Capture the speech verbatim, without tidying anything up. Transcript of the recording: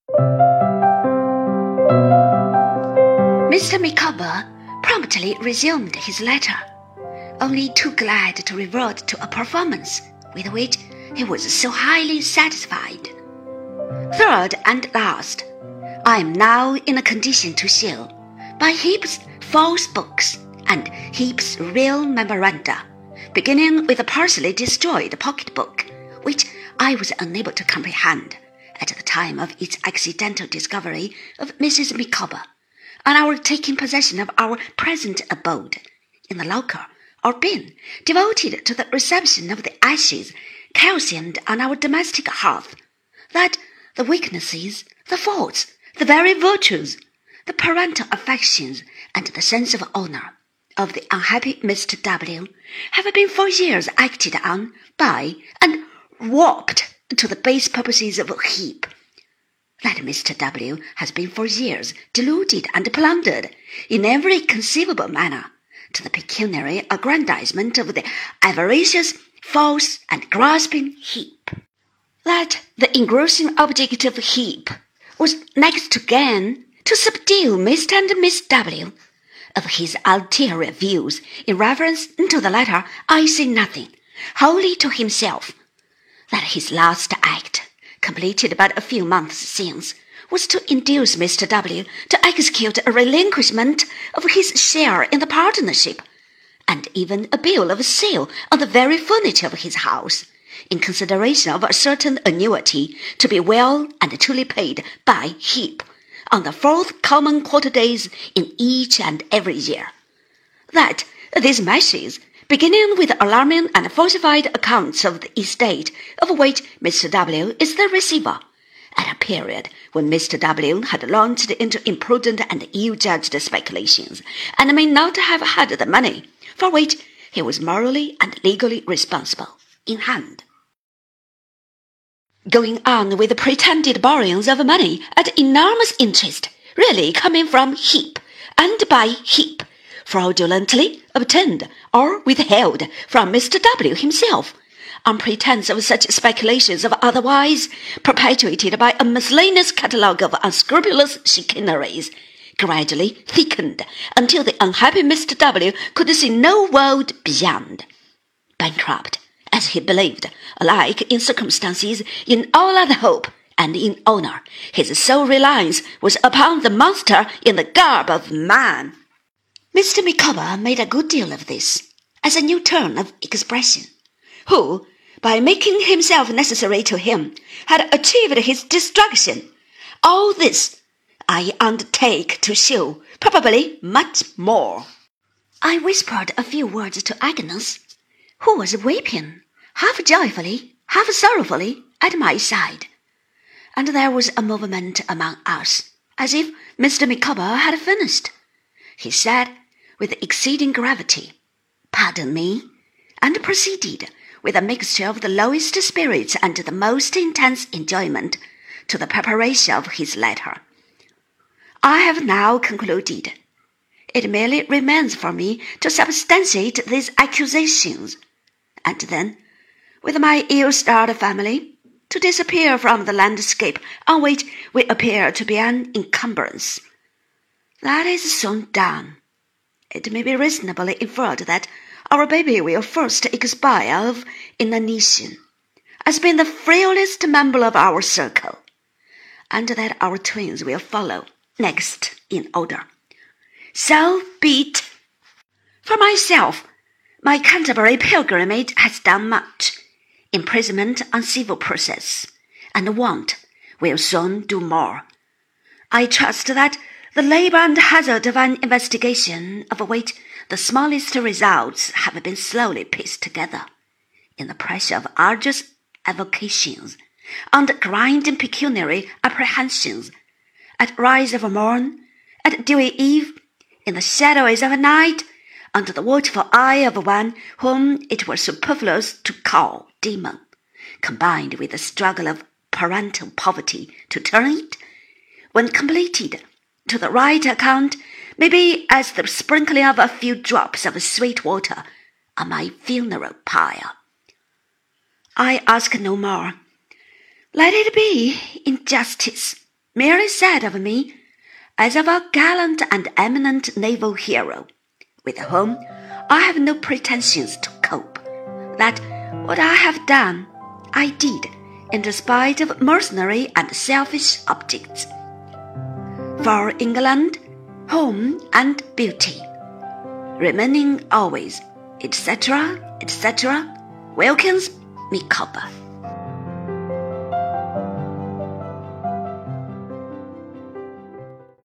Mister Micawber promptly resumed his letter, only too glad to revert to a performance with which he was so highly satisfied. Third and last, I am now in a condition to show, by heaps false books and heaps real memoranda, beginning with a partially destroyed pocket-book, which I was unable to comprehend at the time of its accidental discovery of Missus Micawber, and our taking possession of our present abode, in the locker or bin devoted to the reception of the ashes calcined on our domestic hearth, that the weaknesses, the faults, the very virtues, the parental affections, and the sense of honour of the unhappy Mister W have been for years acted on by and warped to the base purposes of a heap. That Mister W has been for years deluded and plundered in every conceivable manner to the pecuniary aggrandizement of the avaricious, false, and grasping heap. That the engrossing object of heap was next to gain to subdue Mister and Miss W. Of his ulterior views in reference to the latter, I say nothing, wholly to himself. That his last act, completed but a few months since, was to induce Mister W to execute a relinquishment of his share in the partnership, and even a bill of sale on the very furniture of his house, in consideration of a certain annuity to be well and truly paid by heap on the fourth common quarter days in each and every year. That these measures, beginning with alarming and falsified accounts of the estate of which Mister W is the receiver, at a period when Mister W had launched into imprudent and ill-judged speculations, and may not have had the money for which he was morally and legally responsible in hand. Going on with the pretended borrowings of money at enormous interest, really coming from heap, and by heap, fraudulently obtained or withheld from Mister W himself, on pretence of such speculations of otherwise perpetuated by a miscellaneous catalogue of unscrupulous chicaneries, gradually thickened until the unhappy Mister W could see no world beyond. Bankrupt, as he believed, alike in circumstances, in all other hope, and in honour, his sole reliance was upon the monster in the garb of man. Mister Micawber made a good deal of this, as a new turn of expression, who, by making himself necessary to him, had achieved his destruction. All this I undertake to show, probably much more. I whispered a few words to Agnes, who was weeping, half joyfully, half sorrowfully, at my side, and there was a movement among us, as if Mister Micawber had finished. He said, with exceeding gravity, "Pardon me," and proceeded, with a mixture of the lowest spirits and the most intense enjoyment, to the preparation of his letter. I have now concluded. It merely remains for me to substantiate these accusations, and then, with my ill-starred family, to disappear from the landscape on which we appear to be an encumbrance. That is soon done. It may be reasonably inferred that our baby will first expire of inanition, as being the frailest member of our circle, and that our twins will follow next in order. So be it. For myself, my Canterbury pilgrimage has done much. Imprisonment on civil process, and want, will soon do more. I trust that the labour and hazard of an investigation, of which the smallest results have been slowly pieced together, in the pressure of arduous avocations, under grinding pecuniary apprehensions, at rise of morn, at dewy eve, in the shadows of night, under the watchful eye of one whom it were superfluous to call demon, combined with the struggle of parental poverty to turn it, when completed, to the right account, may be as the sprinkling of a few drops of sweet water on my funeral pyre. I ask no more. Let it be in justice, merely said of me, as of a gallant and eminent naval hero, with whom I have no pretensions to cope, that what I have done, I did in spite of mercenary and selfish objects. For England, home and beauty, remaining always, et cetera, et cetera, Wilkins Micawber.